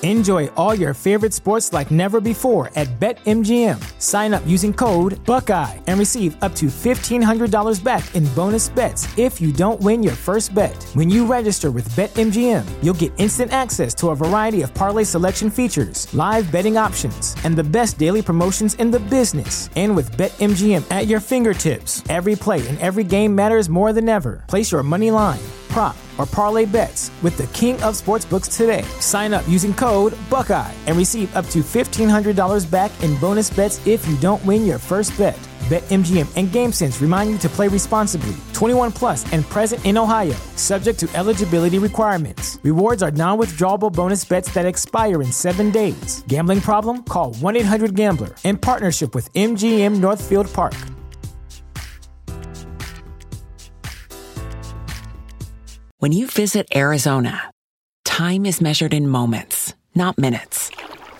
Enjoy all your favorite sports like never before at BetMGM. Sign up using code Buckeye and receive up to $1,500 back in bonus bets if you don't win your first bet. When you register with BetMGM, you'll get instant access to a variety of parlay selection features, live betting options, and the best daily promotions in the business. And with BetMGM at your fingertips, every play and every game matters more than ever. Place your money line, prop, or parlay bets with the king of sportsbooks today. Sign up using code Buckeye and receive up to $1,500 back in bonus bets if you don't win your first bet. BetMGM and GameSense remind you to play responsibly. 21 plus and present in Ohio, subject to eligibility requirements. Rewards are non-withdrawable bonus bets that expire in 7 days. Gambling problem? Call 1-800-GAMBLER. In partnership with MGM Northfield Park. When you visit Arizona, time is measured in moments, not minutes.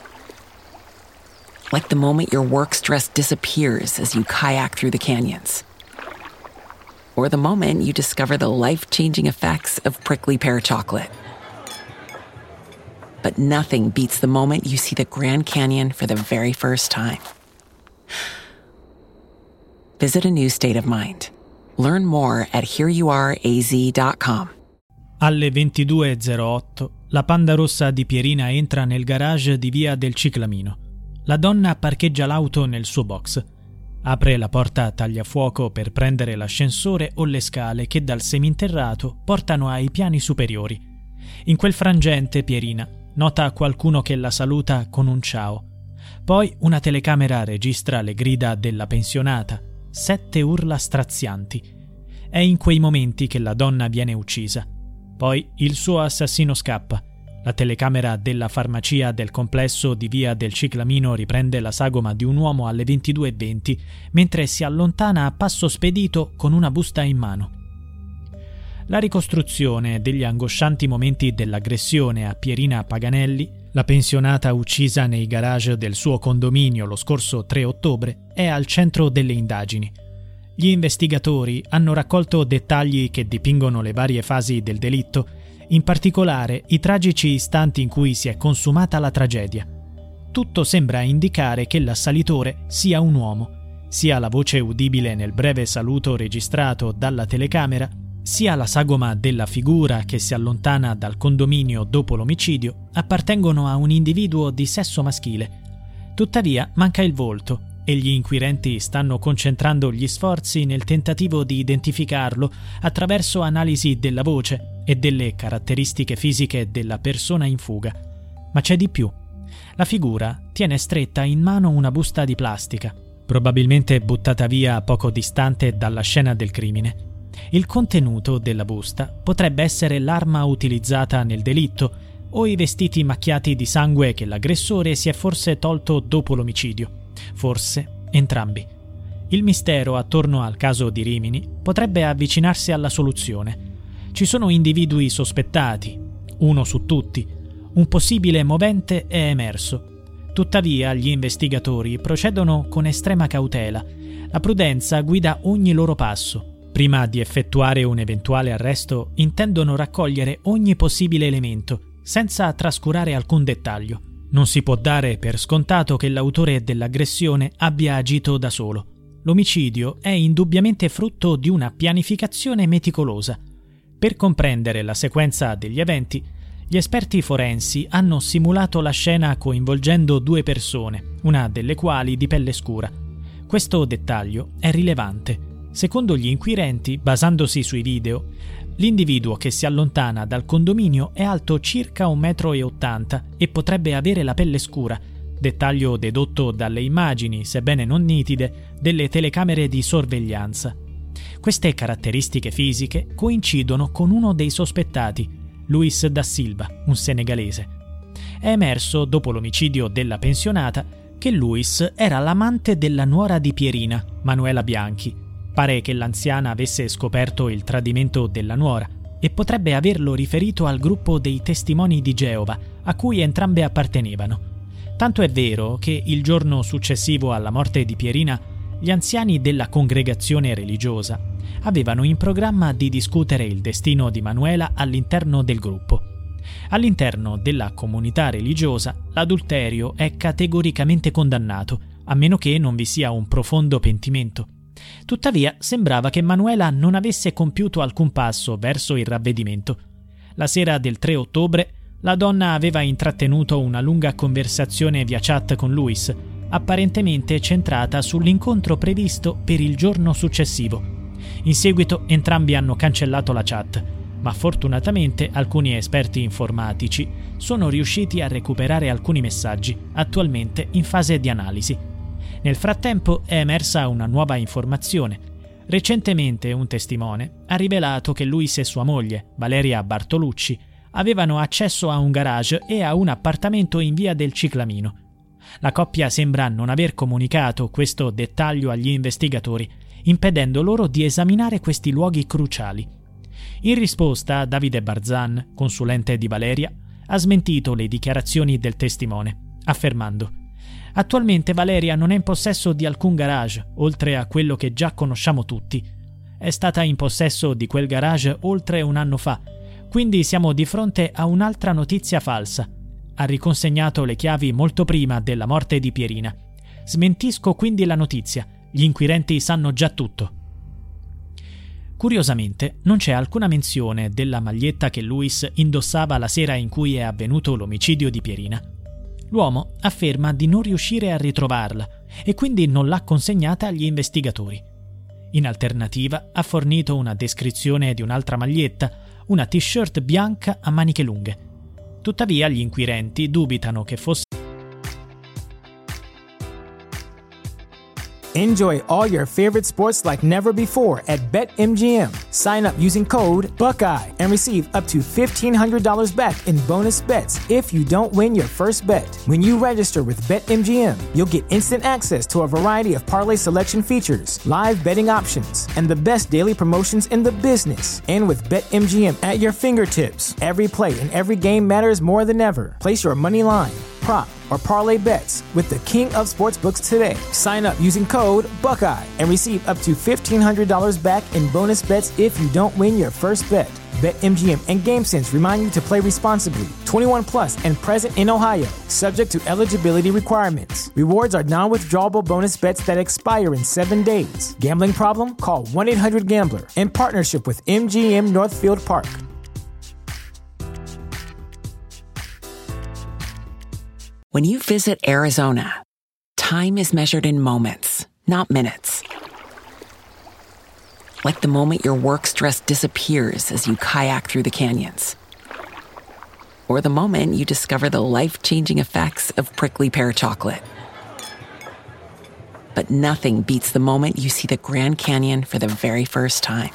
Like the moment your work stress disappears as you kayak through the canyons. Or the moment you discover the life-changing effects of prickly pear chocolate. But nothing beats the moment you see the Grand Canyon for the very first time. Visit a new state of mind. Learn more at hereyouareaz.com. Alle 22:08 la Panda Rossa di Pierina entra nel garage di via del Ciclamino. La donna parcheggia l'auto nel suo box. Apre la porta tagliafuoco per prendere l'ascensore o le scale che dal seminterrato portano ai piani superiori. In quel frangente Pierina nota qualcuno che la saluta con un ciao. Poi una telecamera registra le grida della pensionata, 7 urla strazianti. È in quei momenti che la donna viene uccisa. Poi il suo assassino scappa. La telecamera della farmacia del complesso di via del Ciclamino riprende la sagoma di un uomo alle 22:20 mentre si allontana a passo spedito con una busta in mano. La ricostruzione degli angoscianti momenti dell'aggressione a Pierina Paganelli, la pensionata uccisa nei garage del suo condominio lo scorso 3 ottobre, è al centro delle indagini. Gli investigatori hanno raccolto dettagli che dipingono le varie fasi del delitto, in particolare i tragici istanti in cui si è consumata la tragedia. Tutto sembra indicare che l'assalitore sia un uomo. Sia la voce udibile nel breve saluto registrato dalla telecamera, sia la sagoma della figura che si allontana dal condominio dopo l'omicidio appartengono a un individuo di sesso maschile. Tuttavia manca il volto e gli inquirenti stanno concentrando gli sforzi nel tentativo di identificarlo attraverso analisi della voce e delle caratteristiche fisiche della persona in fuga. Ma c'è di più. La figura tiene stretta in mano una busta di plastica, probabilmente buttata via poco distante dalla scena del crimine. Il contenuto della busta potrebbe essere l'arma utilizzata nel delitto o i vestiti macchiati di sangue che l'aggressore si è forse tolto dopo l'omicidio. Forse entrambi. Il mistero attorno al caso di Rimini potrebbe avvicinarsi alla soluzione. Ci sono individui sospettati, uno su tutti. Un possibile movente è emerso. Tuttavia gli investigatori procedono con estrema cautela. La prudenza guida ogni loro passo. Prima di effettuare un eventuale arresto, intendono raccogliere ogni possibile elemento, senza trascurare alcun dettaglio. Non si può dare per scontato che l'autore dell'aggressione abbia agito da solo. L'omicidio è indubbiamente frutto di una pianificazione meticolosa. Per comprendere la sequenza degli eventi, gli esperti forensi hanno simulato la scena coinvolgendo 2 persone, una delle quali di pelle scura. Questo dettaglio è rilevante. Secondo gli inquirenti, basandosi sui video, l'individuo che si allontana dal condominio è alto circa 1,80 m e potrebbe avere la pelle scura, dettaglio dedotto dalle immagini, sebbene non nitide, delle telecamere di sorveglianza. Queste caratteristiche fisiche coincidono con uno dei sospettati, Luis da Silva, un senegalese. È emerso, dopo l'omicidio della pensionata, che Luis era l'amante della nuora di Pierina, Manuela Bianchi. Pare che l'anziana avesse scoperto il tradimento della nuora e potrebbe averlo riferito al gruppo dei testimoni di Geova, a cui entrambe appartenevano. Tanto è vero che il giorno successivo alla morte di Pierina, gli anziani della congregazione religiosa avevano in programma di discutere il destino di Manuela all'interno del gruppo. All'interno della comunità religiosa, l'adulterio è categoricamente condannato, a meno che non vi sia un profondo pentimento. Tuttavia, sembrava che Manuela non avesse compiuto alcun passo verso il ravvedimento. La sera del 3 ottobre, la donna aveva intrattenuto una lunga conversazione via chat con Luis, apparentemente centrata sull'incontro previsto per il giorno successivo. In seguito entrambi hanno cancellato la chat, ma fortunatamente alcuni esperti informatici sono riusciti a recuperare alcuni messaggi, attualmente in fase di analisi. Nel frattempo è emersa una nuova informazione. Recentemente un testimone ha rivelato che Luis e sua moglie, Valeria Bartolucci, avevano accesso a un garage e a un appartamento in via del Ciclamino. La coppia sembra non aver comunicato questo dettaglio agli investigatori, impedendo loro di esaminare questi luoghi cruciali. In risposta, Davide Barzan, consulente di Valeria, ha smentito le dichiarazioni del testimone, affermando: «Attualmente Valeria non è in possesso di alcun garage, oltre a quello che già conosciamo tutti. È stata in possesso di quel garage oltre un anno fa, quindi siamo di fronte a un'altra notizia falsa. Ha riconsegnato le chiavi molto prima della morte di Pierina. Smentisco quindi la notizia, gli inquirenti sanno già tutto». Curiosamente, non c'è alcuna menzione della maglietta che Luis indossava la sera in cui è avvenuto l'omicidio di Pierina. L'uomo afferma di non riuscire a ritrovarla e quindi non l'ha consegnata agli investigatori. In alternativa, ha fornito una descrizione di un'altra maglietta, una t-shirt bianca a maniche lunghe. Tuttavia, gli inquirenti dubitano che fosse. Enjoy all your favorite sports like never before at BetMGM. Sign up using code Buckeye and receive up to $1,500 back in bonus bets if you don't win your first bet. When you register with BetMGM, you'll get instant access to a variety of parlay selection features, live betting options, and the best daily promotions in the business. And with BetMGM at your fingertips, every play and every game matters more than ever. Place your money line, prop, or parlay bets with the king of sportsbooks today. Sign up using code Buckeye and receive up to $1,500 back in bonus bets if you don't win your first bet. BetMGM and GameSense remind you to play responsibly. 21 plus and present in Ohio, subject to eligibility requirements. Rewards are non-withdrawable bonus bets that expire in 7 days. Gambling problem? Call 1-800-GAMBLER. In partnership with MGM Northfield Park. When you visit Arizona, time is measured in moments, not minutes. Like the moment your work stress disappears as you kayak through the canyons. Or the moment you discover the life-changing effects of prickly pear chocolate. But nothing beats the moment you see the Grand Canyon for the very first time.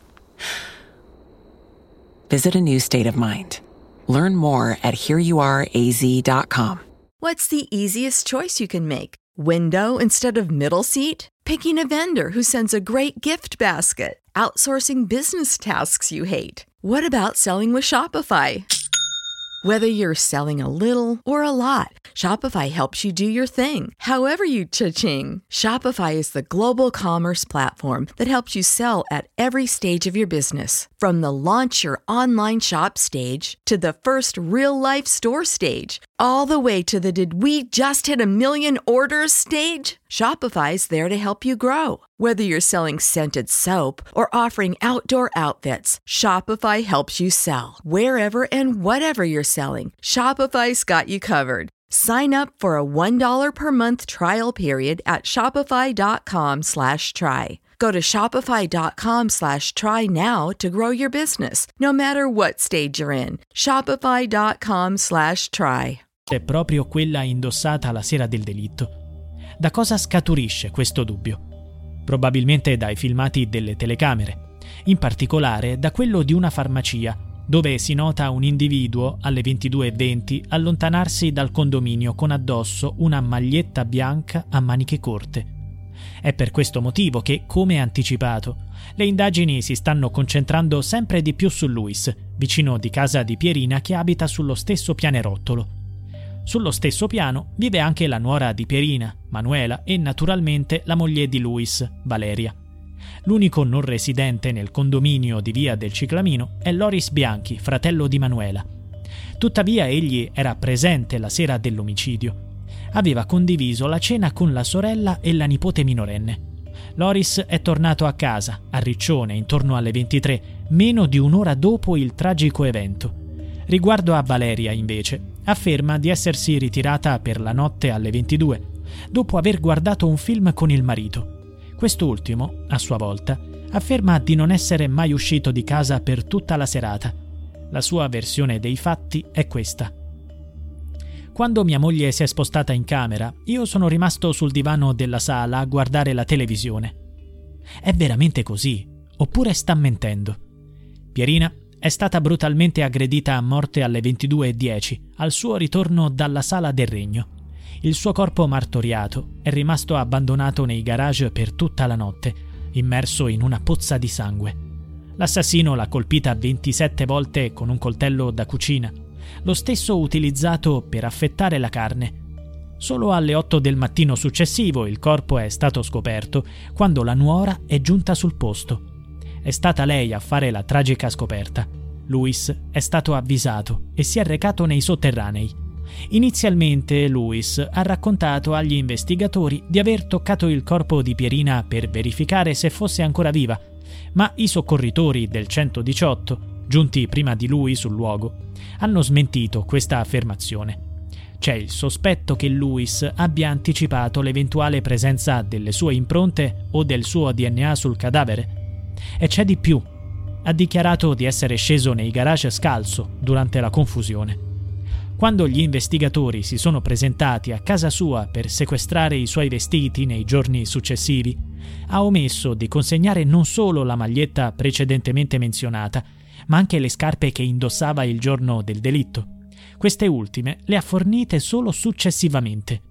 Visit a new state of mind. Learn more at hereyouareaz.com. What's the easiest choice you can make? Window instead of middle seat? Picking a vendor who sends a great gift basket? Outsourcing business tasks you hate? What about selling with Shopify? Whether you're selling a little or a lot, Shopify helps you do your thing, however you cha-ching. Shopify is the global commerce platform that helps you sell at every stage of your business. From the launch your online shop stage to the first real-life store stage, all the way to the did we just hit a million orders stage. Shopify's there to help you grow. Whether you're selling scented soap or offering outdoor outfits, Shopify helps you sell. Wherever and whatever you're selling, Shopify's got you covered. Sign up for a $1 per month trial period at shopify.com/try. Go to shopify.com/try now to grow your business, no matter what stage you're in. Shopify.com/try. È proprio quella indossata la sera del delitto. Da cosa scaturisce questo dubbio? Probabilmente dai filmati delle telecamere, in particolare da quello di una farmacia, dove si nota un individuo alle 22:20 allontanarsi dal condominio con addosso una maglietta bianca a maniche corte. È per questo motivo che, come anticipato, le indagini si stanno concentrando sempre di più su Luis, vicino di casa di Pierina che abita sullo stesso pianerottolo. Sullo stesso piano vive anche la nuora di Pierina, Manuela, e naturalmente la moglie di Luis, Valeria. L'unico non residente nel condominio di via del Ciclamino è Loris Bianchi, fratello di Manuela. Tuttavia egli era presente la sera dell'omicidio. Aveva condiviso la cena con la sorella e la nipote minorenne. Loris è tornato a casa, a Riccione, intorno alle 23, meno di un'ora dopo il tragico evento. Riguardo a Valeria, invece, afferma di essersi ritirata per la notte alle 22, dopo aver guardato un film con il marito. Quest'ultimo, a sua volta, afferma di non essere mai uscito di casa per tutta la serata. La sua versione dei fatti è questa. Quando mia moglie si è spostata in camera, io sono rimasto sul divano della sala a guardare la televisione. È veramente così? Oppure sta mentendo? Pierina è stata brutalmente aggredita a morte alle 22:10, al suo ritorno dalla Sala del Regno. Il suo corpo martoriato è rimasto abbandonato nei garage per tutta la notte, immerso in una pozza di sangue. L'assassino l'ha colpita 27 volte con un coltello da cucina, lo stesso utilizzato per affettare la carne. Solo alle 8 del mattino successivo il corpo è stato scoperto, quando la nuora è giunta sul posto. È stata lei a fare la tragica scoperta. Luis è stato avvisato e si è recato nei sotterranei. Inizialmente Luis ha raccontato agli investigatori di aver toccato il corpo di Pierina per verificare se fosse ancora viva, ma i soccorritori del 118, giunti prima di lui sul luogo, hanno smentito questa affermazione. C'è il sospetto che Luis abbia anticipato l'eventuale presenza delle sue impronte o del suo DNA sul cadavere. E c'è di più. Ha dichiarato di essere sceso nei garage scalzo durante la confusione. Quando gli investigatori si sono presentati a casa sua per sequestrare i suoi vestiti nei giorni successivi, ha omesso di consegnare non solo la maglietta precedentemente menzionata, ma anche le scarpe che indossava il giorno del delitto. Queste ultime le ha fornite solo successivamente.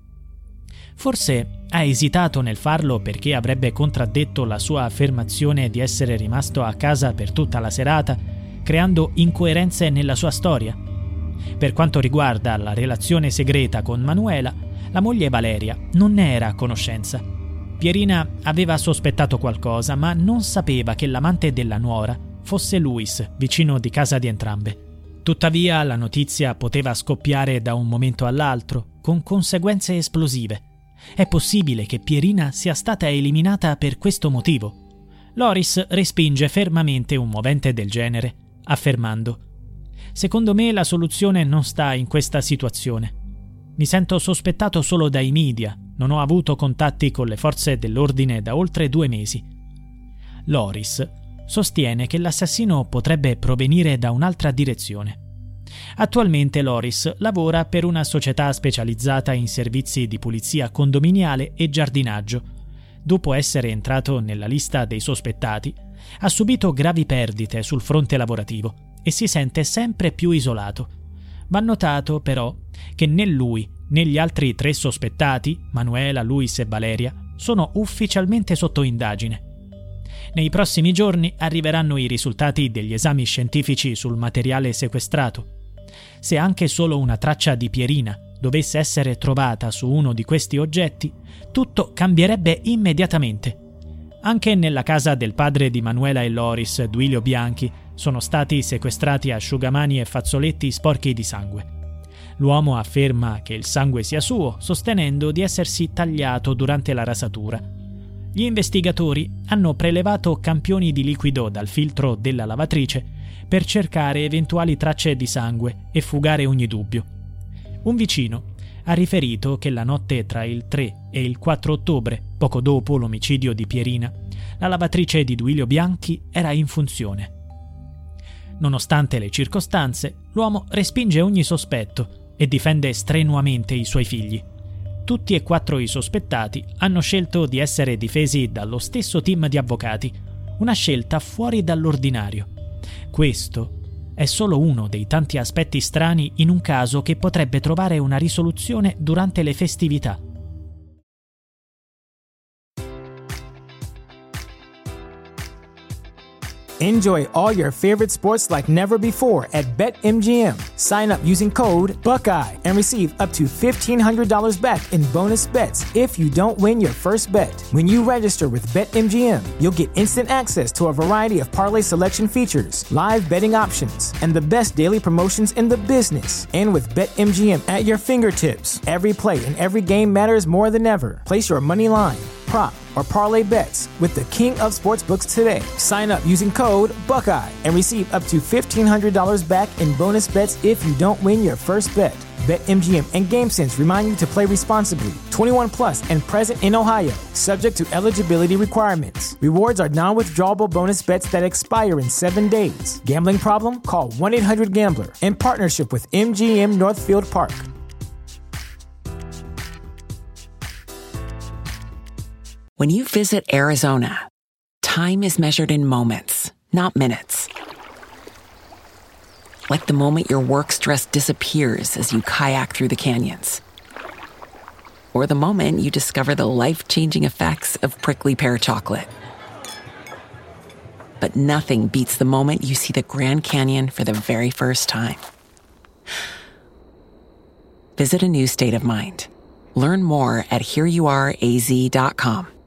Forse ha esitato nel farlo perché avrebbe contraddetto la sua affermazione di essere rimasto a casa per tutta la serata, creando incoerenze nella sua storia. Per quanto riguarda la relazione segreta con Manuela, la moglie Valeria non ne era a conoscenza. Pierina aveva sospettato qualcosa, ma non sapeva che l'amante della nuora fosse Luis, vicino di casa di entrambe. Tuttavia la notizia poteva scoppiare da un momento all'altro, con conseguenze esplosive. È possibile che Pierina sia stata eliminata per questo motivo. Loris respinge fermamente un movente del genere, affermando: «Secondo me la soluzione non sta in questa situazione. Mi sento sospettato solo dai media, non ho avuto contatti con le forze dell'ordine da oltre 2 mesi». Loris sostiene che l'assassino potrebbe provenire da un'altra direzione. Attualmente Loris lavora per una società specializzata in servizi di pulizia condominiale e giardinaggio. Dopo essere entrato nella lista dei sospettati, ha subito gravi perdite sul fronte lavorativo e si sente sempre più isolato. Va notato, però, che né lui né gli altri 3 sospettati, Manuela, Luis e Valeria, sono ufficialmente sotto indagine. Nei prossimi giorni arriveranno i risultati degli esami scientifici sul materiale sequestrato. Se anche solo una traccia di Pierina dovesse essere trovata su uno di questi oggetti, tutto cambierebbe immediatamente. Anche nella casa del padre di Manuela e Loris, Duilio Bianchi, sono stati sequestrati asciugamani e fazzoletti sporchi di sangue. L'uomo afferma che il sangue sia suo, sostenendo di essersi tagliato durante la rasatura. Gli investigatori hanno prelevato campioni di liquido dal filtro della lavatrice per cercare eventuali tracce di sangue e fugare ogni dubbio. Un vicino ha riferito che la notte tra il 3 e il 4 ottobre, poco dopo l'omicidio di Pierina, la lavatrice di Duilio Bianchi era in funzione. Nonostante le circostanze, l'uomo respinge ogni sospetto e difende strenuamente i suoi figli. Tutti e 4 i sospettati hanno scelto di essere difesi dallo stesso team di avvocati, una scelta fuori dall'ordinario. Questo è solo uno dei tanti aspetti strani in un caso che potrebbe trovare una risoluzione durante le festività. Enjoy all your favorite sports like never before at BetMGM. Sign up using code Buckeye and receive up to $1,500 back in bonus bets if you don't win your first bet. When you register with BetMGM, you'll get instant access to a variety of parlay selection features, live betting options, and the best daily promotions in the business. And with BetMGM at your fingertips, every play and every game matters more than ever. Place your money line, prop, or parlay bets with the king of sportsbooks today. Sign up using code Buckeye and receive up to $1,500 back in bonus bets if you don't win your first bet. BetMGM and GameSense remind you to play responsibly. 21 plus and present in Ohio, subject to eligibility requirements. Rewards are non-withdrawable bonus bets that expire in 7 days. Gambling problem? Call 1-800-GAMBLER. In partnership with MGM Northfield Park. When you visit Arizona, time is measured in moments, not minutes. Like the moment your work stress disappears as you kayak through the canyons. Or the moment you discover the life-changing effects of prickly pear chocolate. But nothing beats the moment you see the Grand Canyon for the very first time. Visit a new state of mind. Learn more at hereyouareaz.com.